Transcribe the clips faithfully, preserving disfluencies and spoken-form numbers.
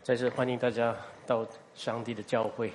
在这欢迎大家到上帝的教会。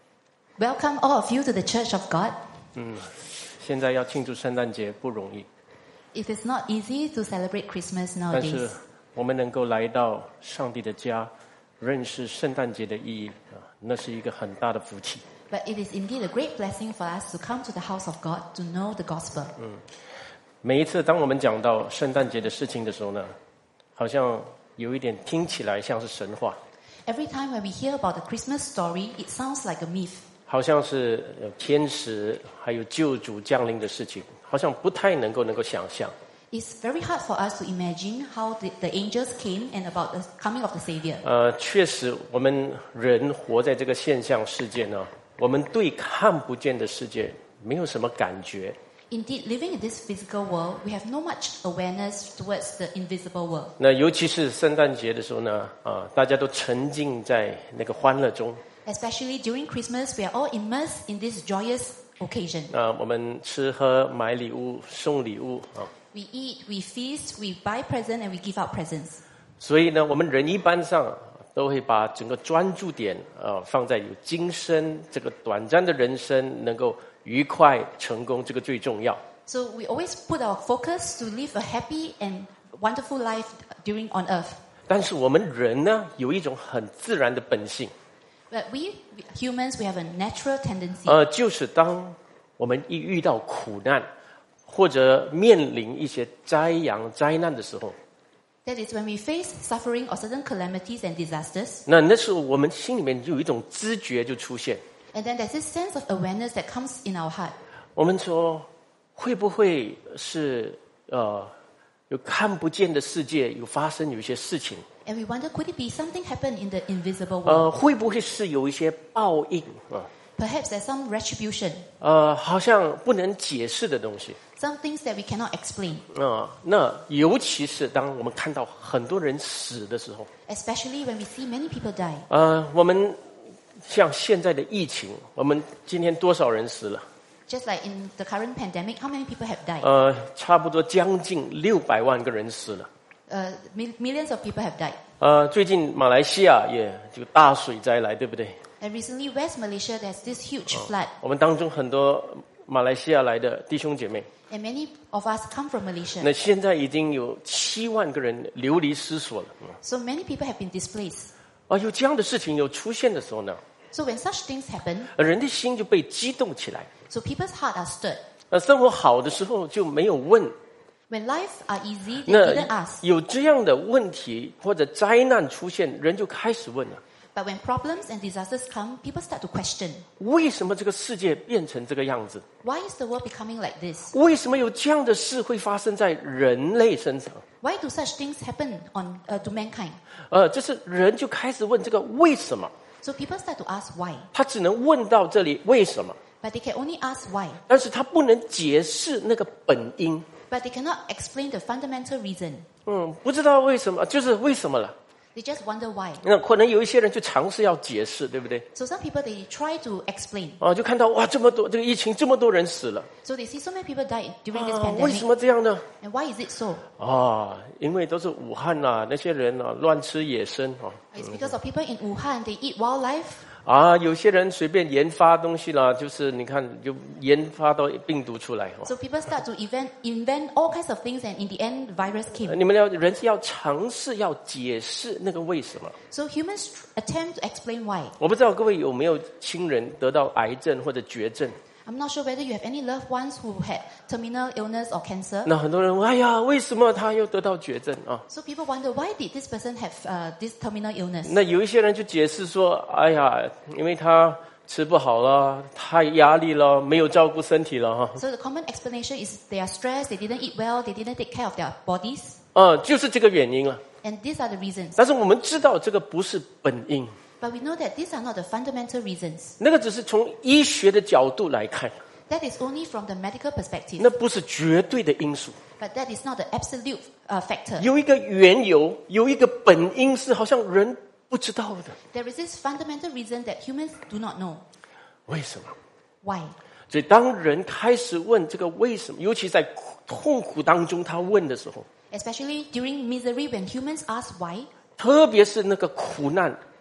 Welcome all of you to the Church of God. 嗯，现在要庆祝圣诞节不容易， It is not easy to celebrate Christmas 但是 nowadays. 我们能够来到上帝的家，认识圣诞节的意义啊，那是一个很大的福气。 But it is indeed a great blessing for us to come to the house of God to know the gospel. 每一次当我们讲到圣诞节的事情的时候呢，好像有一点听起来像是神话， Every time when we hear about the Christmas story, it sounds like a myth. 好像是有天使还有救主降临的事情，好像不太能够能够想象。 It's very hard for us to imagine how the, the angels came and about the coming of the Savior. 呃，确实，我们人活在这个现象世界呢，我们对看不见的世界没有什么感觉。 Indeed, living in this physical world, we have no much awareness towards the invisible world. 那尤其是圣诞节的时候呢，啊、大家都沉浸在那个欢乐中。 Especially during Christmas, we are all immersed in this joyous occasion. 啊、我们吃喝买礼物送礼物啊、 We eat, we feast, we buy presents, and we give out presents. 所以呢，我们人一般上都会把整个专注点呃放在有今生这个短暂的人生能够愉快成功，这个最重要。 So we always put our focus to live a happy and wonderful life during on earth. 但是我们人呢，有一种很自然的本性， But we humans, we have a natural tendency. 呃，就是当我们一遇到苦难或者面临一些灾殃灾难的时候， That is when we face suffering or certain calamities and disasters. 那那时候我们心里面就有一种知觉就出现， And then there's this sense of awareness that comes in our heart. 我们说会不会是呃有看不见的世界有发生有一些事情？ And we wonder, could it be something happen in the invisible world? 呃，会不会是有一些报应啊？ Perhaps there's some retribution, 呃，好像不能解释的东西 some things that we cannot explain. 啊、那尤其是当我们看到很多人死的时候， Especially when we see many people die. 呃，我们像现在的疫情，我们今天多少人死了？ Just like in the current pandemic, how many people have died? 呃，差不多将近六百万个人死了。 Uh, mil- millions of people have died. 呃，最近马来西亚也就大水灾来，对不对？ And recently, West Malaysia, there's this huge flood. 我们当中很多马来西亚来的弟兄姐妹， And many of us come from Malaysia. 那现在已经有七万个人流离失所了。 So many people have been displaced. 啊，有这样的事情有出现的时候呢， So when such things happen, 人的心就被激动起来。 so people's heart are stirred. 呃，生活好的时候就没有问， When life are easy, they 那 didn't ask. 有这样的问题或者灾难出现，人就开始问了： But when problems and disasters come, people start to question. 为什么这个世界变成这个样子？ Why is the world becoming like this? 为什么有这样的事会发生在人类身上？ Why do such things happen on uh, to mankind? 呃，就是人就开始问这个为什么， So people start to ask why. 他只能问到这里为什么， But they can only ask why. 但是他不能解释那个本因。 But they cannot explain the fundamental reason. 嗯，不知道为什么，就是为什么了。 They just wonder why. 那可能有一些人就尝试要解释，对不对？ So some people, they try to explain. 啊，就看到哇，这么多这个疫情，这么多人死了 So they see so many people die during this 啊，为什 pandemic. 么这样呢？ And why is it so? 啊，因为都是武汉呐、那些人啊乱吃野生啊 It's because of people in Wuhan, they eat wildlife. 啊，有些人随便研发东西啦，就是你看就研发到病毒出来哦。 So people start to invent, invent all kinds of things, and in the end, virus 呃 came. 你们要人是要尝试要解释那个为什么。 So humans attempt to explain why. 我不知道各位有没有亲人得到癌症或者绝症？ I'm not sure whether you have any loved ones who had terminal illness or cancer. 那很多人问，哎呀，为什么他又得到绝症啊？ So people wonder, why did this person have uh, this terminal illness? 那有一些人就解释说，哎呀，因为他吃不好了，太压力了，没有照顾身体了哈。 So the common explanation is they are stressed, they didn't eat well, they didn't take care of their bodies. 啊，就是这个原因了。 And these are the reasons. 但是我们知道这个不是本因， But we know that these are not the fundamental reasons. 那个只是从医学的角度来看， That is only from the medical perspective. 那不是绝对的因素。 But that is not the absolute uh, factor. 有一个缘由，有一个本因是好像人不知道的， There is this fundamental reason that humans do not know. 为什么？ Why? 所以当人开始问这个为什么，尤其在苦痛苦当中他问的时候， Especially during misery when humans ask why. 特别是那个苦难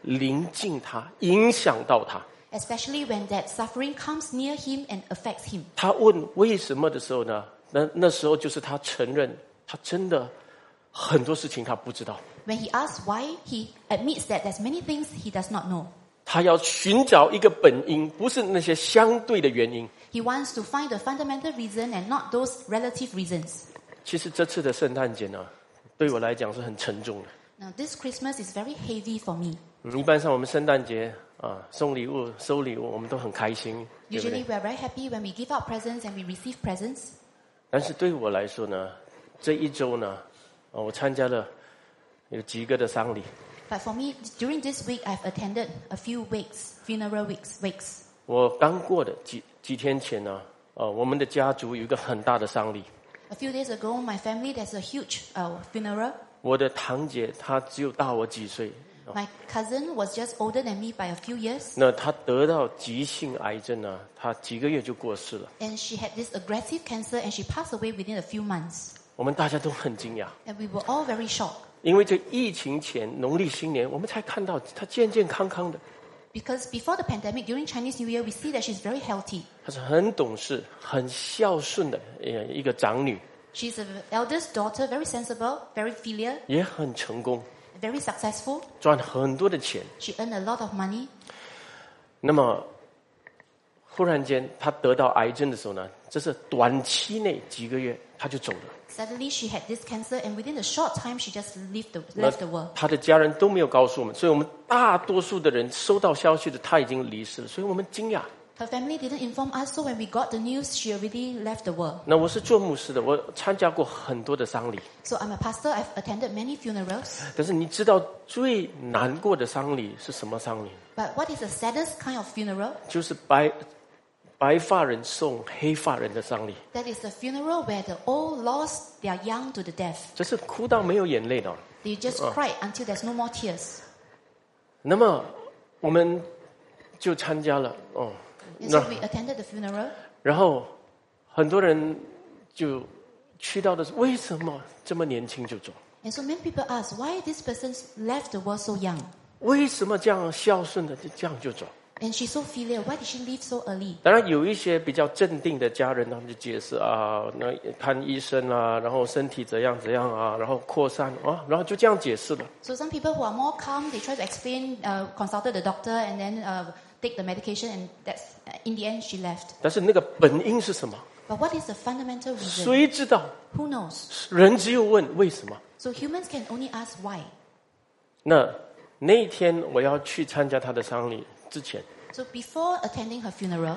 临近他，影响到他。 Especially when that suffering comes near him and affects him. 他问为什么的时候呢，那那时候就是他承认他真的很多事情他不知道。 When he asks why, he admits that there's many things he does not know. 他要寻找一个本因，不是那些相对的原因。 He wants to find the fundamental reason and not those relative reasons. 其实这次的圣诞节呢，对我来讲是很沉重的。 Now, this Christmas is very heavy for me. 嗯，一般上我们圣诞节啊，送礼物、收礼物，我们都很开心，对不 Usually 对？ we are very happy when we give out presents and we receive presents. 但是对我来说呢，这一周呢，啊，我参加了有几个的丧礼。 But for me, during this week, I've attended a few wakes, funeral wakes. wakes. 我刚过的几几天前呢，呃，我们的家族有一个很大的丧礼。 A few days ago, my family, there's a huge uh, funeral. 我的堂姐她只有大我几岁， My cousin was just older than me by a few years. 那她得到急性癌症呢，她几个月就过世了。 And she had this aggressive cancer and she passed away within a few months. 我们大家都很惊讶， And we were all very shocked. 因为这疫情前农历新年，我们才看到她健健康康的， Because before the pandemic, during Chinese New Year, we see that she's very healthy. 她是很懂事、很孝顺的呃一个长女， She's the eldest daughter, very sensible, very filial, 也很成功， very successful. 赚很多的钱。 She earned a lot of money. 那么忽然间她得到癌症的时候呢，这是短期内几个月她就走了。 Suddenly, she had this cancer, and within a short time, she just left the, 那 left the world. 她的家人都没有告诉我们，所以我们大多数的人收到消息的她已经离世了，所以我们惊讶。 Her family didn't inform us, so when we got the news, she already left the world. 那我是做牧师的，我参加过很多的丧礼， So I'm a pastor. I've attended many funerals. 但是你知道最难过的丧礼是什么丧礼？ But what is the saddest kind of funeral? 就是白白发人送黑发人的丧礼， That is the funeral where the old lost their young to the death. 这是哭到没有眼泪的。 They just cried until there's no more tears. 那么我们就参加了哦， And so we attended the funeral. 然后很多人就去到的是为什么这么年轻就走？ And so many people ask, why this person left the world so young? 为什么这样孝顺的就这样就走？ And she's so filial. Why did she leave so early? 当然有一些比较镇定的家人，他们就解释啊，那看医生啊，然后身体怎样怎样啊，然后扩散啊，然后就这样解释了。 So some people who are more calm, they try to explain, uh, consulted the doctor, and then uh, take the medication, and that's in the end she left. 但是那个本因是什么？ But what is the fundamental reason? 谁知道？ Who knows? 人只有问为什么。 So humans can only ask why. 那那一天我要去参加他的丧礼之前， So before attending her funeral,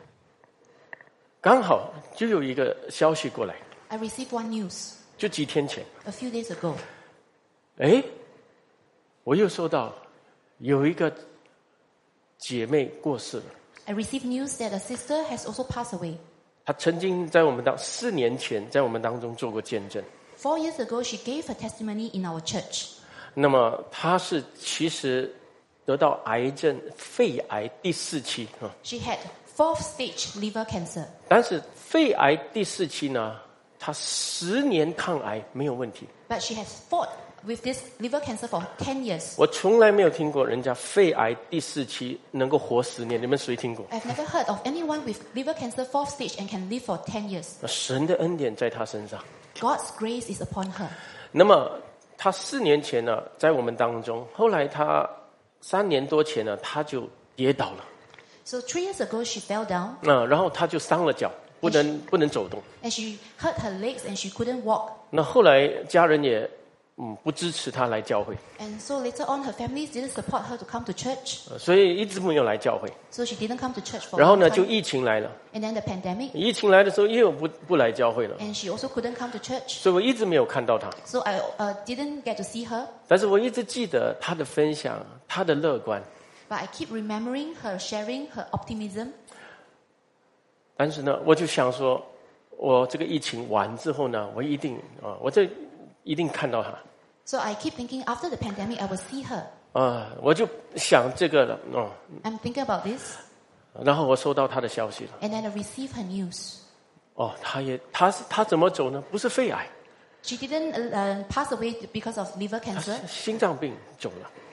刚好就有一个消息过来， I received one news 就几天前， a few days ago. 哎，我又收到有一个姐妹过世了。 I received news that a sister has also passed away. 她曾经在我们当四年前在我们当中做过见证。 Four years ago, she gave her testimony in our church. 那么她是其实得到癌症肺癌第四期啊， She had fourth stage liver cancer. 但是肺癌第四期呢，她十年抗癌没有问题。 But she has fought with this liver cancer for ten years. 我从来没有听过人家肺癌第四期能够活十年，你们谁听过？ I've never heard of anyone with liver cancer fourth stage and can live for ten years. 神的恩典在她身上。 God's grace is upon her. 那么她四年前呢，在我们当中，后来她三年多前呢，她就跌倒了， So three years ago, she fell down 啊，然后她就伤了脚，不能不能走动。 and she hurt her legs and she couldn't walk. 那后来家人也嗯不支持她来教会， And so later on, her family didn't support her to come to church. 呃所以一直没有来教会。 So she didn't come to church for 然 a 后 long 呢，就 time. 疫情来了， And then the pandemic, 疫情来的时候又不不来教会了， and she also couldn't come to church. 所以我一直没有看到她。 So I uh, didn't get to see her. 但是我一直记得她的分享，她的乐观。 But I keep remembering her sharing her optimism. 但是呢，我就想说，我这个疫情完之后呢，我一定啊，我这一定看到她 So I keep thinking after the pandemic, I will see her. 啊，我就想这个了哦。 I'm thinking about this. 然后我收到她的消息了， And then I received her news. 哦，她也她是她怎么走呢？不是肺癌， She didn't uh, pass away because of liver 她是 cancer, 心脏病走了。 but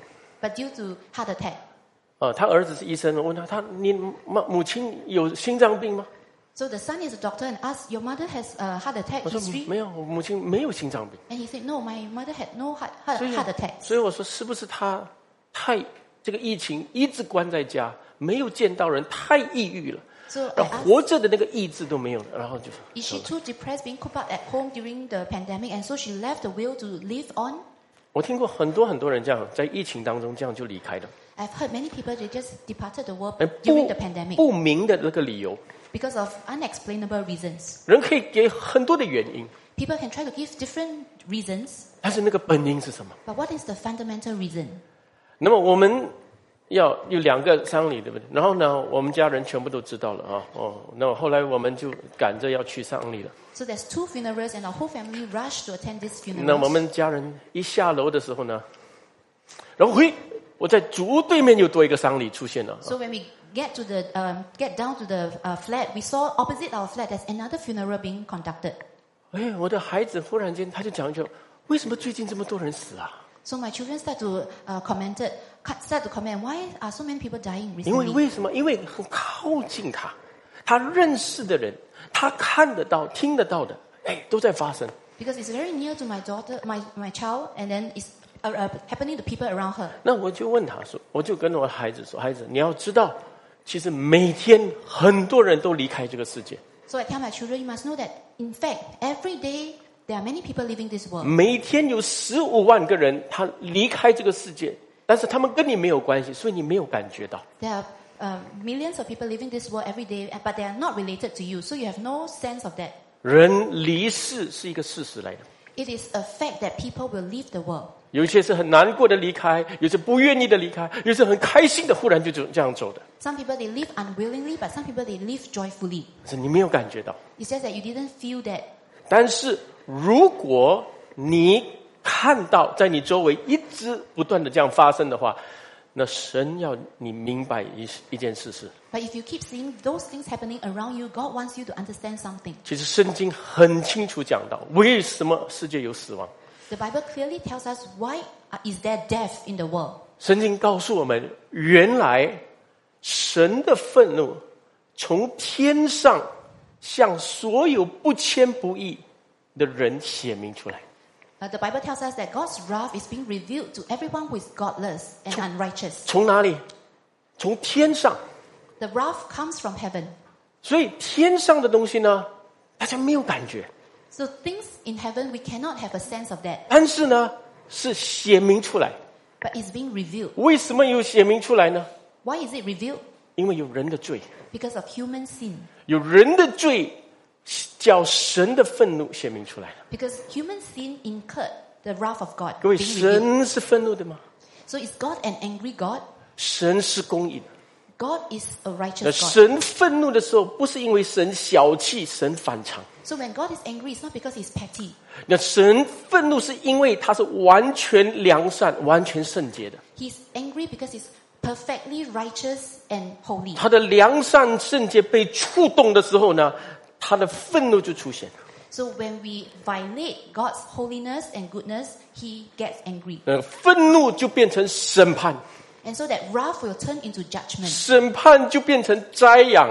but due to heart attack. 啊，他儿子是医生，我问他，他你母母亲有心脏病吗？ So the son is a doctor and asked, your mother has a heart attack 我说 history? 没有，我母亲没有心脏病。 And he said, no, my mother had no heart, heart, 所以 heart attack. 所以我说是不是他太这个疫情一直关在家，没有见到人，太抑郁了， So I 然后 asked, 活着的那个意志都没有了，然后就 is she too depressed being cooped up at home during the pandemic and so she left the will to live on? 我听过很多很多人这样在疫情当中这样就离开的， I've heard many people, they just departed the world 哎 during 不 the pandemic 不明的那个理由， because of unexplainable reasons. 人可以给很多的原因， People can try to give different reasons, 但是那个本因是什么？ but what is the fundamental reason? 那么我们要有两个丧礼，对不对？然后呢，我们家人全部都知道了啊，哦，那后来我们就赶着要去丧礼了。 So there's two funerals and our whole family rushed to attend this 那我 funeral. 们家人一下楼的时候呢，然后嘿，我在主屋对面又多一个丧礼出现了。 So when we get to the um, get down to the uh, flat, we saw opposite our flat there's another funeral being conducted. 哎，我的孩子忽然间他就讲一句：为什么最近这么多人死啊？ So my children start to uh, commented, start to comment, why are so many people dying 因为 recently? 为什么？因为很靠近他，他认识的人，他看得到、听得到的，哎，都在发生。 Because it's very near to my daughter, my my child, and then it's uh, uh, happening to people around her. 那我就问他说，我就跟我孩子说，孩子，你要知道，其实每天很多人都离开这个世界， So I tell my children, you must know that in fact every day there are many people leaving this world. 每天有十五万个人他离开这个世界，但是他们跟你没有关系，所以你没有感觉到。 There are uh, millions of people leaving this world every day, but they are not related to you, so you have no sense of that. 人离世是一个事实来的， It is a fact that people will leave the world. 有些是很难过的离开，有些不愿意的离开，有些很开心的忽然就这这样走的， Some people they live unwillingly, but some people they live joyfully. 可是你没有感觉到。 It's just that you didn't feel that. 但是如果你看到在你周围一直不断的这样发生的话，那神要你明白一一件事是， But if you keep seeing those things happening around you, God wants you to understand something. 其实圣经很清楚讲到为什么世界有死亡。 The Bible clearly tells us why is there death in the world. 圣经告诉我们，原来神的愤怒从天上向所有不谦不义的人显明出来。 Uh, the Bible tells us that God's wrath is being revealed to everyone who is godless and unrighteous. 从哪里？从天上。 The wrath comes from heaven. 所以天上的东西呢，大家没有感觉， So things in heaven, we cannot have a sense of that. 但是呢，是显明出来。 But it's being revealed. 为什么有显明出来呢？ Why is it revealed? 因为有人的罪， Because of human sin. 有人的罪，叫神的愤怒显明出来了。 Because human sin incurred the wrath of God 各位， being revealed. 神是愤怒的吗？ So is God an angry God? 神是公义的。 God is a 那 righteous God. 神愤怒的时候，不是因为神小气，神反常。 So when God is angry, it's not because he's petty. 那神愤怒是因为他是完全良善、完全圣洁的。 He's angry because he's perfectly righteous and holy. 他的良善、圣洁被触动的时候呢，他的愤怒就出现。 So when we violate God's holiness and goodness, he gets angry. 呃，愤怒就变成审判， And so that wrath will turn into judgment. 审判就变成灾殃，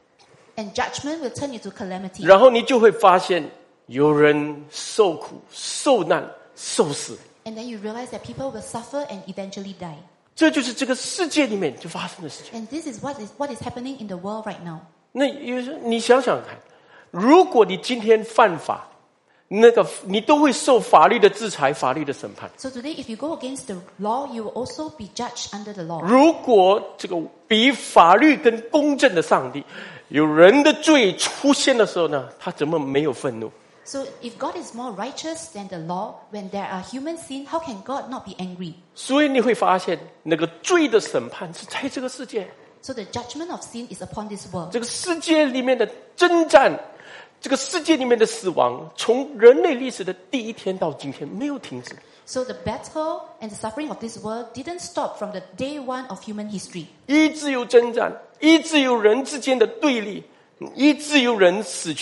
And judgment will turn into calamity. 然后你就会发现有人受苦、受难、受死。 And then you realize that people will suffer and eventually die. 这就是这个世界里面就发生的事情。 And this is what is what is happening in the world right now. 那有时你想想看，如果你今天犯法，那个你都会受法律的制裁、法律的审判。 So today, if you go against the law, you will also be judged under the law. 如果这个比法律更公正的上帝，有人的罪出现的时候呢，他怎么没有愤怒？ So if God is more righteous than the law, when there are human sin, how can God not be angry? 所以你会发现，那个罪的审判是在这个世界， So the judgment of sin is upon this world. 这个世界里面的征战，这个世界里面的死亡，从人类历史的第一天到今天没有停止。 So the battle and the suffering of this world didn't stop from the day one of human history. 一直有征战，一直有人之间的对立，一直有人死去。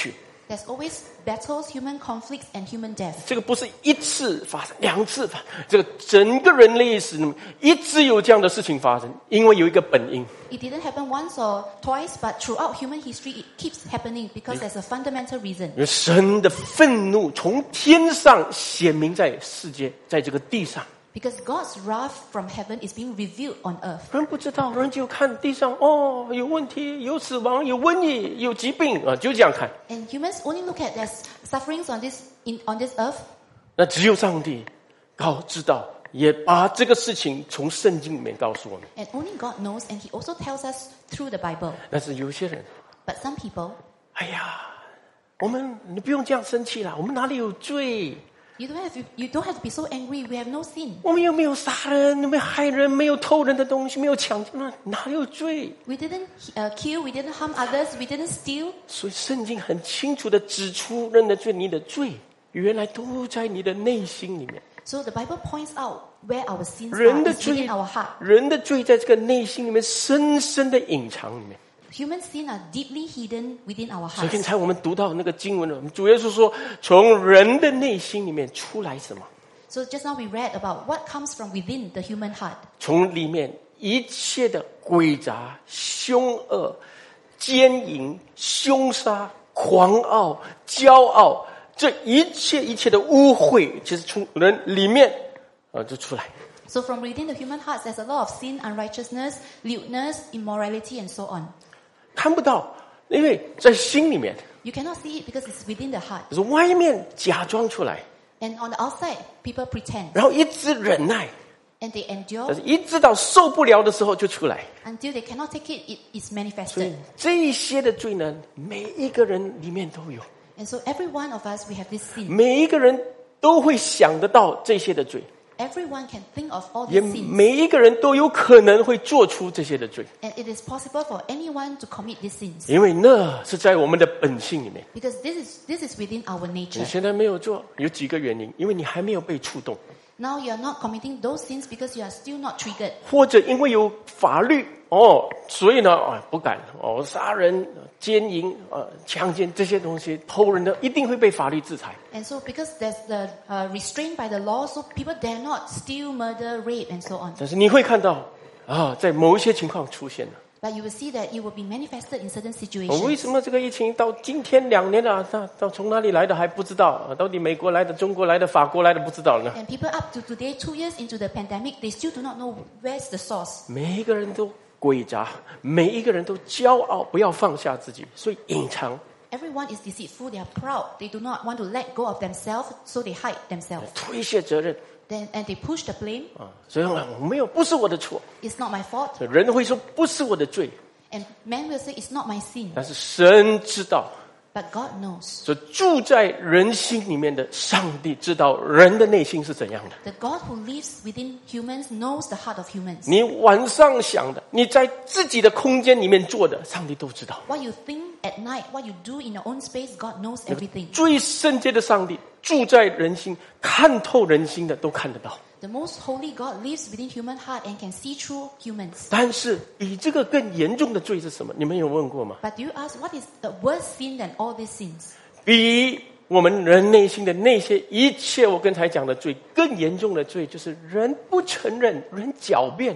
There's always battles, human conflicts, and human death. 这个不是一次发生，两次发生，这个整个人类历史里面一直有这样的事情发生，因为有一个本因。 It didn't happen once or twice, but throughout human history, it keeps happening because there's a fundamental reason. 因为神的愤怒从天上显明在世界，在这个地上。 Because God's wrath from heaven is being revealed on earth. 人不知道，人就看地上，哦，有问题，有死亡，有瘟疫，有疾病啊，就这样看。 And humans only look at there's sufferings on this in on this earth. 那只有上帝告知道，也把这个事情从圣经里面告诉我们。 And only God knows, and He also tells us through the Bible. 但是有些人， But some people, 哎呀，我们你不用这样生气啦，我们哪里有罪？ you don't have to, you don't have to be so angry. We have no sin. 我们又没有杀人，没有害人，没有偷人的东西，没有抢劫，那哪里有罪？ We didn't uh, kill. We didn't harm others. We didn't steal. 所以圣经很清楚的指出，人的罪，你的罪原来都在你的内心里面。 So the Bible points out where our sins 人 are. 的 It's 罪 within our heart. 人的罪在这个内心里面深深的隐藏里面。 Human sin are deeply hidden within our 所以 hearts. 刚才我们读到那个经文了，主耶稣说，从人的内心里面出来什么？ So just now we read about what comes from within the human heart. 从里面一切的诡诈、凶恶、奸淫、凶杀、狂傲、骄傲，这一切一切的污秽，其实从人里面啊就出来。 So from within the human hearts, there's a lot of sin, unrighteousness, lewdness, immorality, and so on. 看不到，因为在心里面， You cannot see it because it's within the heart. 就是外面假装出来， And on the outside, people pretend. 然后一直忍耐， And they 但 endure 是一直到受不了的时候就出来。 until they cannot take it, it is 所以 manifested. 这一些的罪呢，每一个人里面都有， And so every one of us, we have this sin. 每一个人都会想得到这些的罪， Everyone can think of all 也 these sins. 每一个人都有可能会做出这些的罪， And it is possible for anyone to commit these sins. 因为那是在我们的本性里面。 Because this is, this is within our 你 nature. 现在没有做，有几个原因，因为你还没有被触动， Now you are not committing those sins because you are still not triggered. 或者因为有法律哦，所以呢啊不敢哦，杀人、奸淫、呃强奸这些东西，偷人的一定会被法律制裁。 And so because there's the uh, restraint by the law, so people dare not steal, murder, rape, and so on. 但是你会看到啊，在某一些情况出现了。 But you will see that it will be manifested in certain 哦为 situations. 什么这个疫情到今天两年了，到到从哪里来的还不知道，啊到底美国来的、中国来的、法国来的不知道呢？ And people up to today, two years into the pandemic, they still do not know where's the source. 每一个人都诡诈，每一个人都骄傲，不要放下自己，所以隐藏， Everyone is deceitful, they are proud, they do not want to let go of themselves, so they hide themselves. 推卸责任 Then, and they push the blame. 啊。所以我没有，不是我的错。 It's not my fault. 所以人会说不是我的罪， And man will say, it's not my sin. 但是神知道。 But God knows. 所以住在人心里面的上帝知道人的内心是怎样的。 The God who lives within humans knows the heart of humans. 你晚上想的，你在自己的空间里面做的，上帝都知道。 What you think at night, what you do in your own space, God knows everything. 最圣洁的上帝住在人心，看透人心的都看得到。 The most holy God lives within human heart and can see through humans. 但是比这个更严重的罪是什么？你们有问过吗？ But do you ask, what is the worst sin than all these sins? 比我们人内心的那些一切我刚才讲的罪更严重的罪，就是人不承认，人狡辩。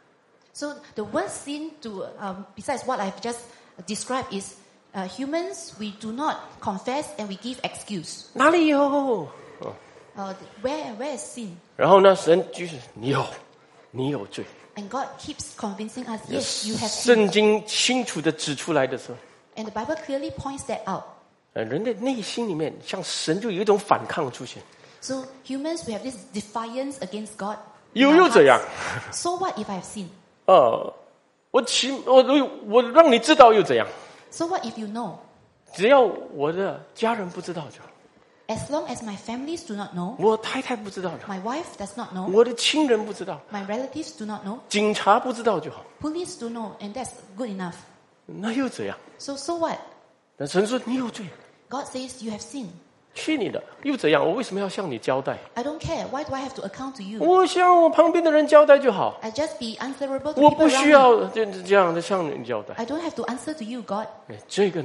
So the worst sin to, um, besides what I've just described is uh, humans, we do not confess and we give excuse. 哪里有？ Uh, where, where is sin? 然后呢，神就是你有，你有罪。 And God keeps convincing us, yes, you have sinned. 圣经清楚的指出来的时候， And the Bible clearly points that out. 呃，人的内心里面，像神就有一种反抗出现。 So humans, we have this defiance against God. 有 in 又 our 怎样？ hearts. So what if I have sinned? 呃，我起我我让你知道又怎样？ So what if you know? 只要我的家人不知道就好， As long as my families do not know, 我太太不知道就好， my wife does not know, 我的亲人不知道， my relatives do not know, 警察不知道就好， police do know, and that's good enough. 那又怎样？ So, so what? 那神说你有罪， God says you have sinned. 去你的，又怎样？我为什么要向你交代？ I don't care. Why do I have to account to you? 我向我旁边的人交代就好， I just be answerable to 我 people 不需 around me. 要这这样的向你交代。 I don't have to answer to you, God. 哎，这个呢，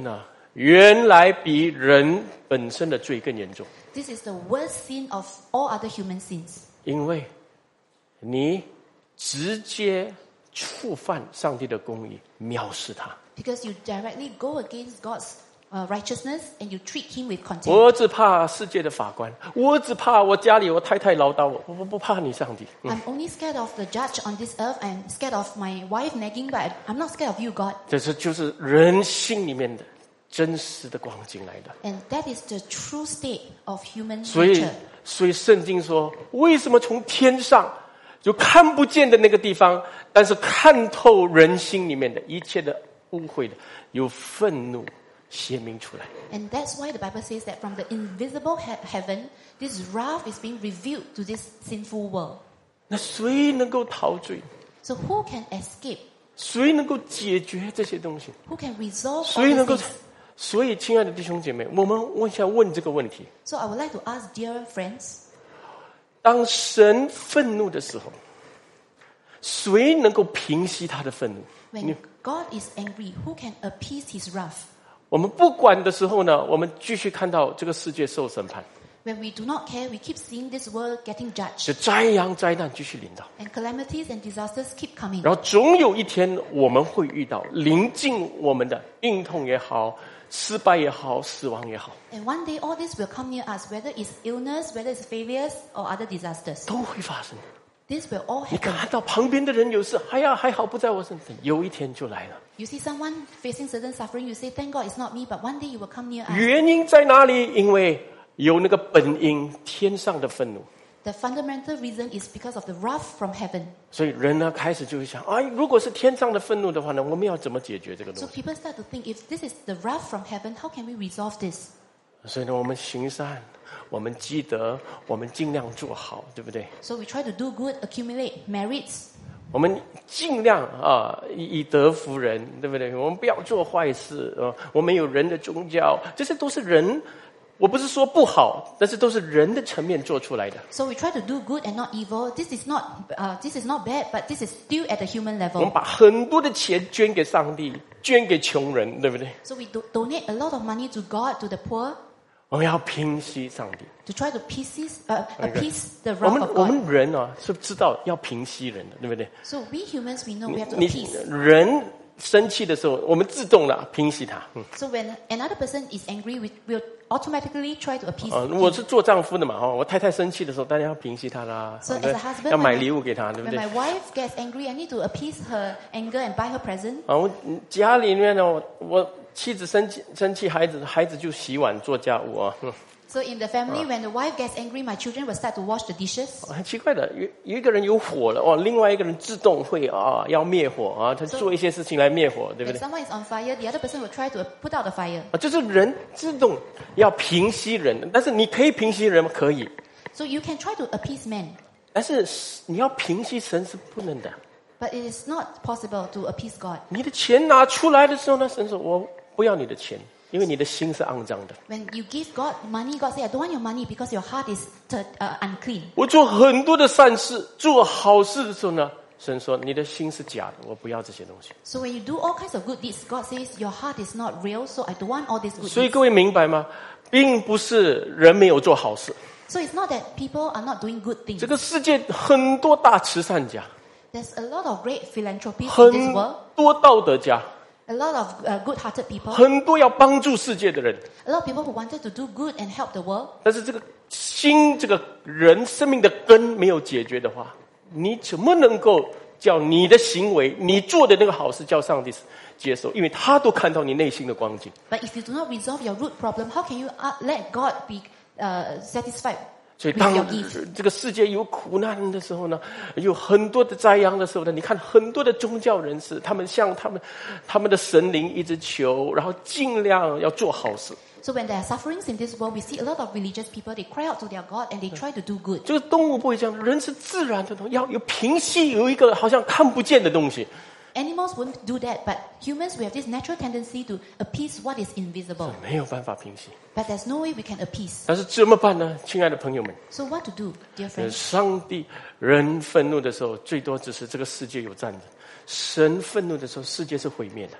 原来比人本身的罪更严重。 This is the worst sin of all other human sins. 因为你直接触犯上帝的公义，藐视他。 Because you directly go against God's uh, righteousness and you treat him with contempt. 我只怕世界的法官，我只怕我家里我太太唠叨我，我不怕你上帝。 I'm only scared of the judge on this earth. I'm scared of my wife nagging, but I'm not scared of you, God. 这是就是人心里面的真实的光景来的。 And that is the true state of human 所以 nature. 所以圣经说，为什么从天上就看不见的那个地方，但是看透人心里面的一切的污秽的，有愤怒显明出来。 And that's why the Bible says that from the invisible he- heaven, this wrath is being revealed to this sinful world. 那谁能够逃罪？ So who can escape? 谁能够解决这些东西？ Who can resolve 谁 all 能 these 够 things?？ 所以，亲爱的弟兄姐妹，我们我想问这个问题： So I would like to ask dear friends, 当神愤怒的时候，谁能够平息他的愤怒？ when God is angry, who can appease his wrath? 我们不管的时候呢，我们继续看到这个世界受审判， When we do not care, we keep seeing this world getting 这 judged. 灾殃灾难继续临到， And calamities and disasters keep coming. 然后总有一天我们会遇到临近我们的病痛也好、失败也好、死亡也好， And one day all this will come near us, whether it's illness, whether it's failures or other disasters. 都会发生。 This will all 你 happen. 看到旁边的人有事，哎呀，还好不在我身上，有一天就来了。 You see someone facing certain suffering, you say, thank God it's not me, but one day you will come near us. 原因在哪里？因为有那个本因，天上的愤怒。 The fundamental reason is because of the wrath from heaven. 所以人呢开始就会想，哎，如果是天上的愤怒的话呢，我们要怎么解决这个 So 东西？ people start to think, if this is the wrath from heaven, how can we resolve this? 所以呢，我们行善，我们积德，我们尽量做好，对不对？ So we try to do good, accumulate merits. 我们尽量啊，以以德服人，对不对？我们不要做坏事啊。我们有人的宗教，这些都是人。我不是说不好，但是都是人的层面做出来的。 So we try to do good and not evil. This is not, uh, this is not bad, but this is still at the human 我们 level. 把很多的钱捐给上帝，捐给穷人，对不对？ So we do- donate a lot of money to God, to the poor, 我们要平息上帝。 to try to pieces, uh, appease the 我 wrath 们 of 我 God. 们人啊，是知道要平息人的，对不对？ So we humans, we know we have to 你 appease. 人生气的时候，我们自动的平息他。嗯 So when another person is angry, we will automatically try to appease 啊， him. 我是做丈夫的嘛，哈，我太太生气的时候，当然要平息她啦， So 对 as a husband, 要买 when 礼物给她，对不 When 对？ my wife gets angry, I need to appease her anger and buy her present. 啊，我家里面呢，我我妻子生气生气，孩子孩子就洗碗做家务啊。嗯 So in the family, when the wife gets angry, my children will start to wash the dishes. 很奇怪的，有有一个人有火了哦，另外一个人自动会啊要灭火啊，他做一些事情来灭火，对不 When 对？ someone is on fire, the other person will try to put out the fire. 啊，就是人自动要平息人，但是你可以平息人吗？可以， So you can try to appease men, 但是你要平息神是不能的。 but it is not possible to appease God. 你的钱拿出来的时候呢，神说我不要你的钱，因为你的心是肮脏的。 When you give God money, God says, I don't want your money because your heart is t- uh, unclean. 我做很多的善事，做好事的时候呢，神说你的心是假的，我不要这些东西。 So when you do all kinds of good deeds, God says, your heart is not real, so I don't want all these good 所以 deeds. 各位明白吗？并不是人没有做好事， So it's not that people are not doing good things. 这个世界很多大慈善家， There's a lot of great philanthropists in 很 this world, 多道德家， a lot of uh, good-hearted people, 很多要帮助世界的人， a lot of people who wanted to do good and help the world. 但是这个心，这个人生命的根没有解决的话，你怎么能够叫你的行为，你做的那个好事叫上帝接受？因为他都看到你内心的光景。 But if you do not resolve your root problem, how can you uh, let God be uh, satisfied 所以 with 当 your gift? 这个世界有苦难的时候呢，有很多的灾殃的时候呢，你看很多的宗教人士，他们向他们他们的神灵一直求，然后尽量要做好事。 So when there are sufferings in this world, we see a lot of religious people, they cry out to their God and they try to do good. 这个动物不会这样，人是自然的东西，要有平息，有一个好像看不见的东西。 Animals won't do that, but humans, we have this natural tendency to appease what is invisible. 没有办法平息， But there's no way we can appease. 但是怎么办呢？亲爱的朋友们， So what to do, dear 呃 friends? 上帝人愤怒的时候，最多只是这个世界有战争；神愤怒的时候，世界是毁灭的。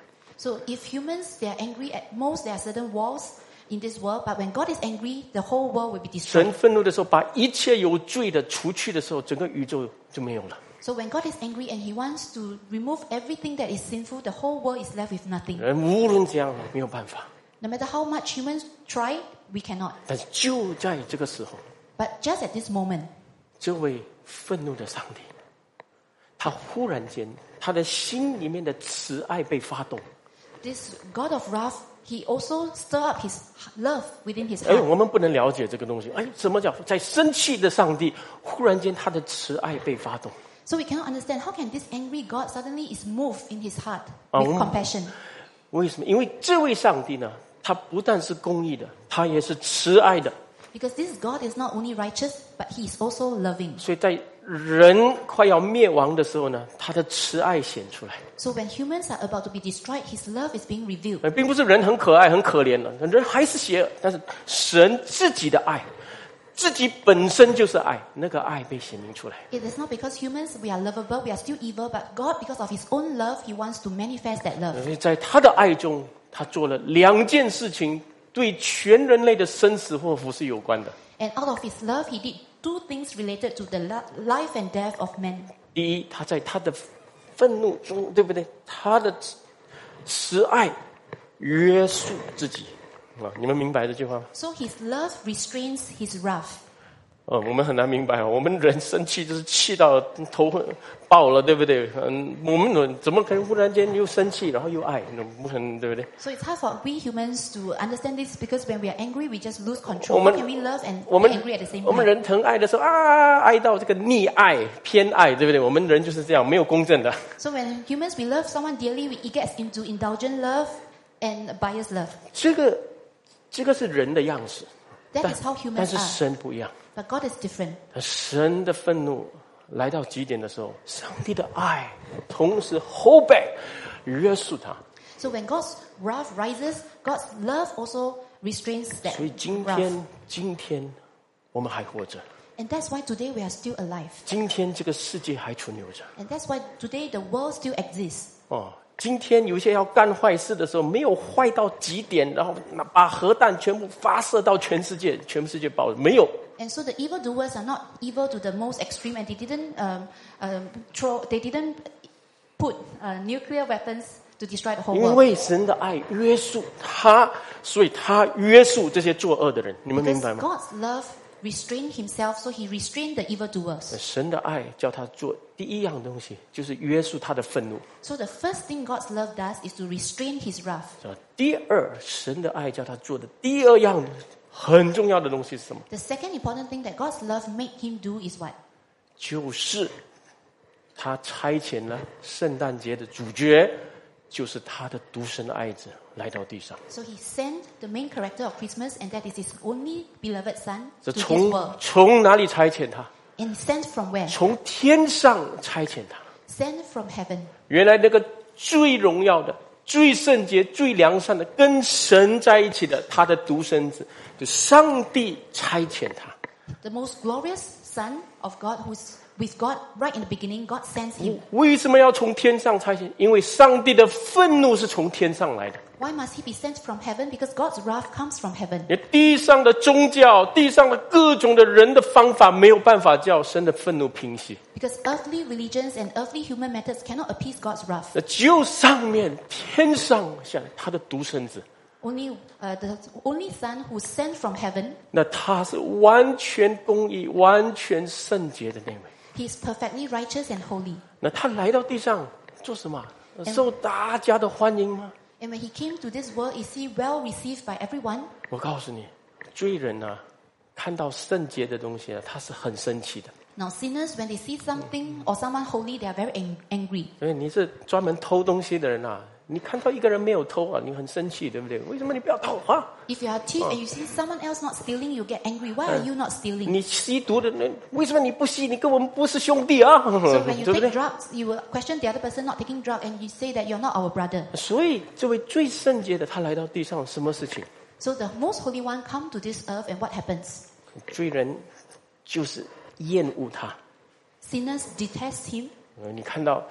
So if humans, they are angry, at most there are certain walls in this world, but when God is angry, the whole world will be 神 destroyed. 愤怒的时候，把一切有罪的除去的时候，整个宇宙就没有了。 So when God is angry and He wants to remove everything that is sinful, the whole world is left with nothing. 人无论怎样没有办法， No matter how much humans try, we cannot. 但是就在这个时候， But just at this moment, 这位愤怒的上帝，他忽然间，他的心里面的慈爱被发动。 this God of wrath, He also stir up His love within His 哎， heart. 我们不能了解这个东西。哎，什么叫在生气的上帝忽然间他的慈爱被发动？ So we cannot understand how can this angry God suddenly is moved in His heart Ah, with um. compassion. 为什么？因为这位上帝呢，他不但是公义的，他也是慈爱的。 Because this God is not only righteous, but He is also loving. 所以在人快要灭亡的时候呢，他的慈爱显出来。 So when humans are about to be destroyed, His love is being revealed. 呃，并不是人很可爱、很可怜了，人还是邪恶，但是神自己的爱，自己本身就是爱，那个爱被显明出来。 It is not because humans, we are lovable, we are still evil, but God, because of His own love, He wants to manifest that love. 所以在他的爱中，他做了两件事情，对全人类的生死祸福是有关的。 And out of His love, He did two things related to the lo- life and death of man. 第一，他在他的愤怒中，对不对？他的慈慈爱约束自己啊，你们明白这句话吗？ So His love restrains His wrath. 呃，我们很难明白啊，我们人生气就是气到头爆了，对不对？嗯，我们人怎么可能忽然间又生气，然后又爱？不可能，对不对？ So it's hard for we humans to understand this because when we are angry, we just lose 我 control. 们 How can we love and 我 be 们 angry at the same 我们 time? 人疼爱的时候啊，爱到这个溺爱、偏爱，对不对？我们人就是这样，没有公正的。 So when humans, we love someone dearly, we, it gets into indulgent love and biased love. 这个这个是人的样式， That 但 is how 但 humans 是 are. 神不一样。 But God is different. 神的愤怒来到极点的时候，上帝的爱同时后背约束他。 So when God's wrath rises, God's love also restrains that 所以今 wrath. 天，今天我们还活着， And that's why today we are still alive. 今天这个世界还存留着。 And that's why today the world still exists. 哦，今天有一些要干坏事的时候，没有坏到极点，然后把核弹全部发射到全世界，全世界爆了，没有。 And so the evildoers are not evil to the most extreme, and they didn't um, um, throw, they didn't put uh, nuclear weapons to destroy the whole 因 world. 为神的爱约束他，所以他约束这些作恶的人。你们明 Because 白吗？ God's love restrained Himself, so He restrained the evildoers. 神的爱叫他做第一样东西，就是约束他的愤怒。 So the first thing God's love does is to restrain His wrath. 是吧？第二，神的爱叫他做的第二样很重要的东西是什么？ The second important thing that God's love made Him do is what? 就是他差遣了圣诞节的主角，就是他的独生爱子来到地上。 So He sent the main character of Christmas, and that is His only beloved Son 这 to this 从 world. 从哪里差遣他？ And sent from where? 从天上差遣他。 Sent from heaven. 原来那个最荣耀的、最圣洁、最良善的，跟神在一起的，他的独生子，就上帝差遣他。 The most glorious Son of God, who's with God right in the beginning, God sends Him. 为什么要从天上差遣？因为上帝的愤怒是从天上来的。 Why must He be sent from heaven? Because God's wrath comes from heaven. 连地上的宗教、地上的各种的人的方法，没有办法叫神的愤怒平息。 Because earthly religions and earthly human methods cannot appease God's wrath. 那只有上面天上下来他的独生子， Only uh, the only Son who's sent from heaven, 那他是完全公义、完全圣洁的那位。 He is perfectly righteous and holy. 那他来到地上做什么？受大家的欢迎吗？ And when He came to this world, is He well received by everyone? 我告诉你，罪人啊，看到圣洁的东西啊，他是很生气的。 Now sinners, when they see something or someone holy, they are very ang- angry. 所以你是专门偷东西的人啊，你看到一个人没有偷啊，你很生气，对不对？为什么你不要偷啊？ If you are a thief and you see someone else not stealing, you get angry. Why are you not stealing? 你吸毒的人，为什么你不吸？你跟我们不是兄弟啊， So when you 对不 take 对？ drugs, you will question the other person not taking drug, and you say that you're not our brother. 所以这位最圣洁的，他来到地上，什么事情？ So the most holy one come to this earth, and what happens? 罪人就是厌恶他。 Sinners detest Him. 呃你看到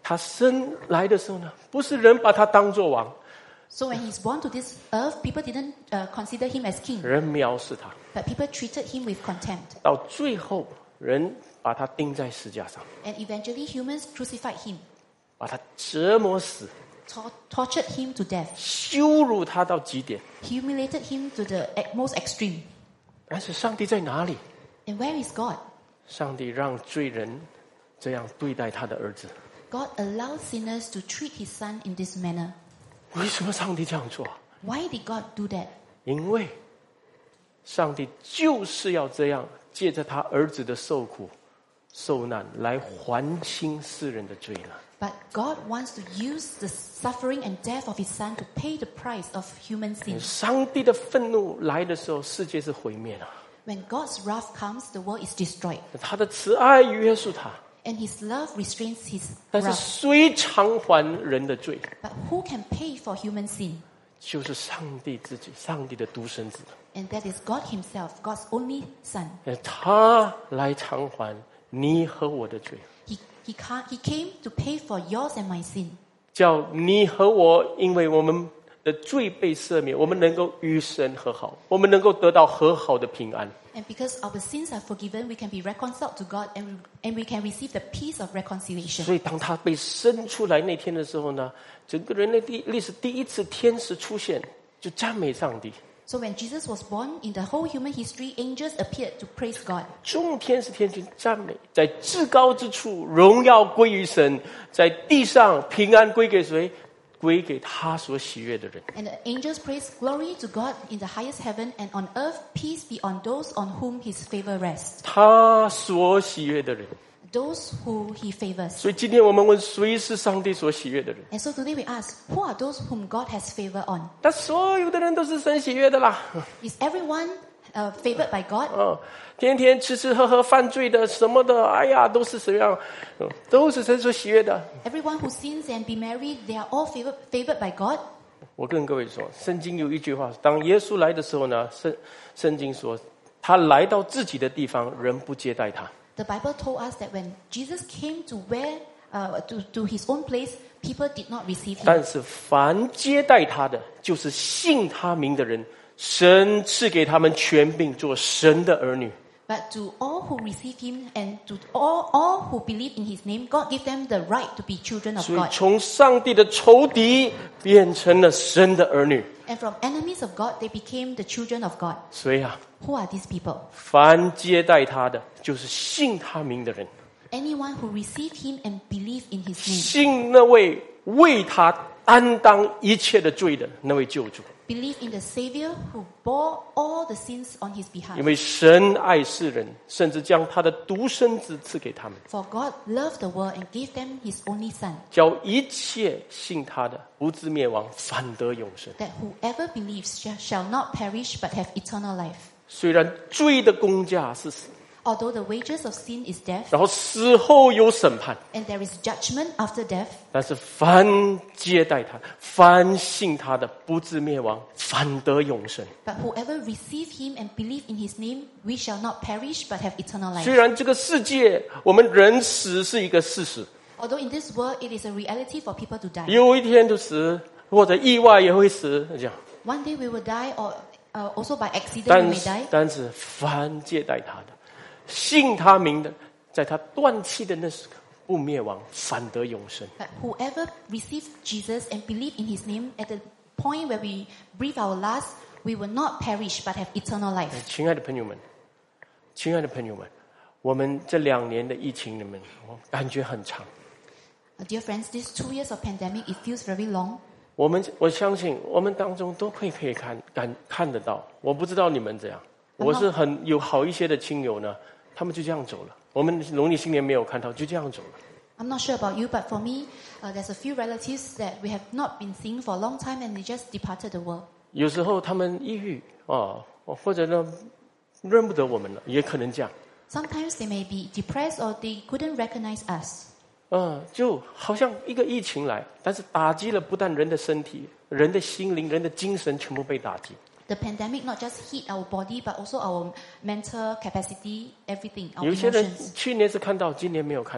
他生来的时候呢，不是人把他当作王， So when he's born to this earth, people didn't uh, consider him as king, 人藐视他， but people treated him with contempt. 到最后人把他钉在石架上， And eventually humans crucified him, 把他折磨死， tor- tortured him to death, 羞辱他到极点。 humiliated him to the e- most extreme. 但是上帝在哪里？ And where is God? 上帝让罪人这样对待他的儿子。 God allowed sinners to treat his son in this manner. 为什么上帝这样做？ Why did God do that? 因为上帝就是要这样，借着他儿子的受苦、受难来还清世人的罪呢。 But God wants to use the suffering and death of his son to pay the price of human sin. 上帝的愤怒来的时候，世界是毁灭的。 When God's wrath comes, the world is destroyed. 他的慈爱约束他， And his love restrains his 但是 wrath. 谁偿还人的罪？ But who can pay for human sin? 就是上帝自己，上帝的独生子。 And that is God himself, God's only son. 他来偿还你和我的罪， He, he, can't, he came to pay for yours and my sin. 叫你和我，因为我们的罪被赦免，我们能够与神和好，我们能够得到和好的平安。 And because our sins are forgiven, we can be reconciled to God and we, and we can receive the peace of reconciliation. 所以当他被生出来那天的时候呢，整个人类历历史第一次天使出现，就赞美上帝。 So when Jesus was born, in the whole human history, angels appeared to praise God. 众天使天君赞美，在至高之处荣耀归于神，在地上平安归给谁？归给他所喜悦的人。 And the angels praise glory to God in the highest heaven, and on earth peace be on those on whom his favor rests, 他所喜悦的人。 those who he favors. 所以今天我们问，谁是上帝所喜悦的人？ And so today we ask, who are those whom God has favor on? 那所有的人都是神喜悦的啦。 Is everyone uh, favored by God? 嗯，天天吃吃喝喝犯罪的什么的，哎呀，都是怎样？嗯，都是神所喜悦的。 Everyone who sins and be married, they are all favored, favored by God. 我跟各位说，圣经有一句话，当耶稣来的时候呢，圣圣经说，他来到自己的地方，人不接待他。 The Bible told us that when Jesus came to where, uh, to, to his own place, people did not receive him. 但是凡接待他的，就是信他名的人，神赐给他们权柄做神的儿女。 But to all who receive him and to all, all who believe in his name, God gave them the right to be children of 所以 God. 从上帝的仇敌变成了神的儿女。 And from enemies of God, they became the children of God. 所以啊， Who are these people? 凡接待他的，就是信他名的人， Anyone who receive him and believe in his name. 信那位为他担当一切的罪的那位救主。 Believe in the Savior who bore all the sins on his behalf. 因为神爱世人，甚至将他的独生子赐给他们， For God loved the world and gave them his only Son, 叫一切信他的不至灭亡，反得永生。 that whoever believes shall, shall not perish but have eternal life. 虽然罪的工价是死， Although the wages of sin is death, 然后死后有审判， and there is judgment after death, 但是凡接待他、凡信他的，不至灭亡，反得永生。 but whoever receive him and believe in his name, we shall not perish but have eternal 虽 life. 然这个世界我们人死是一个事实， Although in this world it is a reality for people to die. 有一天就死，或者意外也会死，这样。 One day we will die, or uh, also by accident we 但 may 是 die. 但是凡接待他的，信他名的，在他断气的那时刻不灭亡，反得永生。 But whoever receives Jesus and believe in his name, at the point where we breathe our last, we will not perish but have eternal life. 亲爱的朋友们，亲爱的朋友们，我们这两年的疫情里面，我感觉很长。 Uh, Dear friends, these two years of pandemic, it feels very long. 我们我相信我们当中都可以可以看感看得到。我不知道你们怎样，我是很有好一些的亲友呢，他们就这样走了。我们农历新年没有看到，就这样走了。 I'm not sure about you, but for me, uh, there's a few relatives that we have not been seeing for a long time, and they just departed the world. 有时候他们抑郁啊，或者呢认不得我们了，也可能这样。 Sometimes they may be depressed or they couldn't recognize us. 嗯，就好像一个疫情来，但是打击了不但人的身体、人的心灵、人的精神，全部被打击。 The pandemic not just hit our body, but also our mental capacity, everything, our 有些人 emotions. 去年是看到，今年没有看到。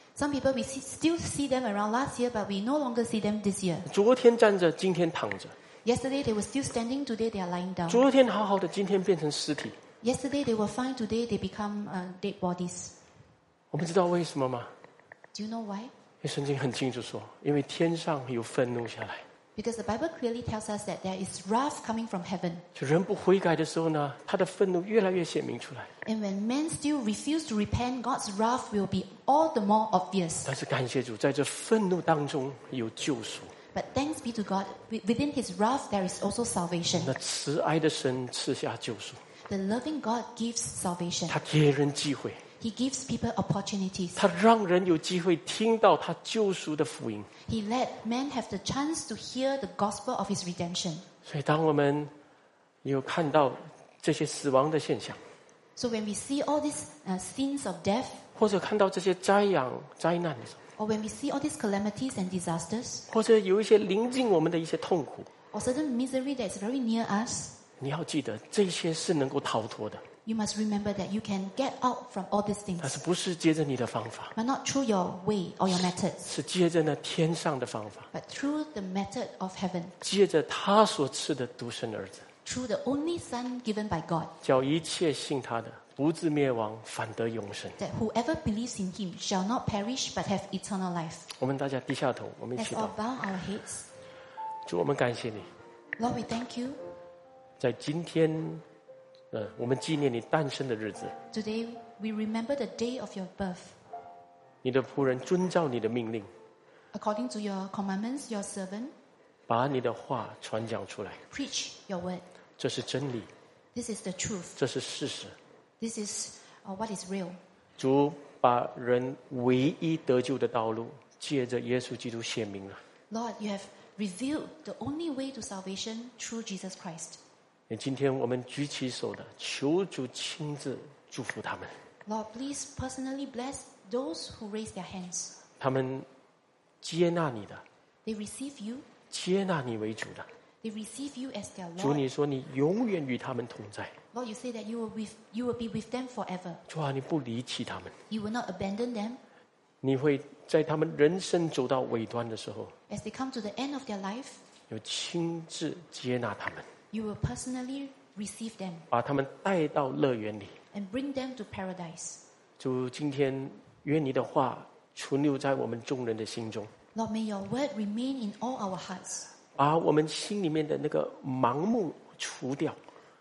Some people we see, still see them around last year, but we no longer see them this year. 昨天站着，今天躺着； Yesterday they were still standing, today they are lying down. 昨天好好的，今天变成尸体。 Yesterday they were fine, today they become uh, dead bodies. 我们知道为什么吗？ Do you know why? 因为圣经很清楚说，因为天上有愤怒下来。 Because the Bible clearly tells us that there is wrath coming from heaven. 就人不悔改的时候呢，他的愤怒越来越显明出来。 And when men still refuse to repent, God's wrath will be all the more obvious. 但是感谢主，在这愤怒当中有救赎。 But thanks be to God, wi- within his wrath there is also salvation. 那慈爱的神赐下救赎， The loving God gives salvation. 他给人机会， He gives people opportunities. 他让人有机会听到他救赎的福音。 He let men have the chance to hear the gospel of his redemption. 所以，当我们有看到这些死亡的现象， So when we see all these uh, scenes of death, 或者看到这些灾殃、灾难的时候， or when we see all these calamities and disasters, 或者有一些临近我们的一些痛苦， or certain misery that is very near us, 你要记得，这些是能够逃脱的， you must remember that you can get out from all these 但 things, 是不是借着你的方法， but not through your way or your methods, 是借着那天上的方法， but through the method of heaven, 借着他所赐的独生儿子， through the only Son given by God, 叫一切信他的不至灭亡，反得永生。 that whoever believes in him shall not perish but have eternal life. 我们大家低下头，我们一 Let's 起 all 祷。 bow our heads. 主，我们感谢你， Lord, we thank you. 在今天，呃，我们纪念你诞生的日子， Today we remember the day of your birth. 你的仆人遵照你的命令， According to your commandments, your servant 把你的话传讲出来， preach your word. 这是真理， This is the truth. 这是事实。 This is uh, what is real. 主把人唯一得救的道路，借着耶稣基督显明了。 Lord, you have revealed the only way to salvation through Jesus Christ. 那今天我们举起手的，求主亲自祝福他们。 Lord, please personally bless those who raise their hands. 他们接纳你的， They receive you. 接纳你为主的。 They receive you as their 主， Lord. 你说你永远与他们同在。 Lord, you say that you will, with, you will be with them forever. 主啊，你不离弃他们， You will not abandon them. 你会在他们人生走到尾端的时候， As they come to the end of their life, 有亲自接纳他们， you will personally receive them 把他们带到乐园里。 and bring them to paradise. 主，今天愿你的话存留在我们众人的心中， Lord, may your word remain in all our hearts. 把我们心里面的那个盲目除掉，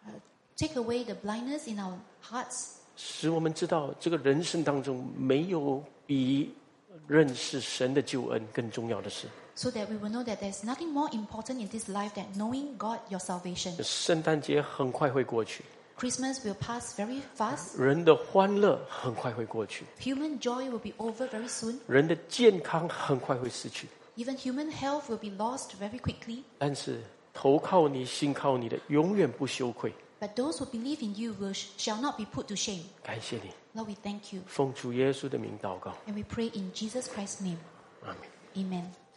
Take away the blindness in our hearts, 使我们知道这个人生当中没有比认识神的救恩更重要的事。 so that we will know that there's nothing more important in this life than knowing God, your salvation. 圣诞节很快会过去， Christmas will pass very fast. 人的欢乐很快会过去， Human joy will be over very soon. 人的健康很快会失去。 Even human health will be lost very quickly. 但是投靠你、信靠你的，永远不羞愧。 But those who believe in you will, shall not be put to shame. 感谢你， Lord, we thank you. 奉主耶稣的名祷告， And we pray in Jesus Christ's name. 阿门。 Amen.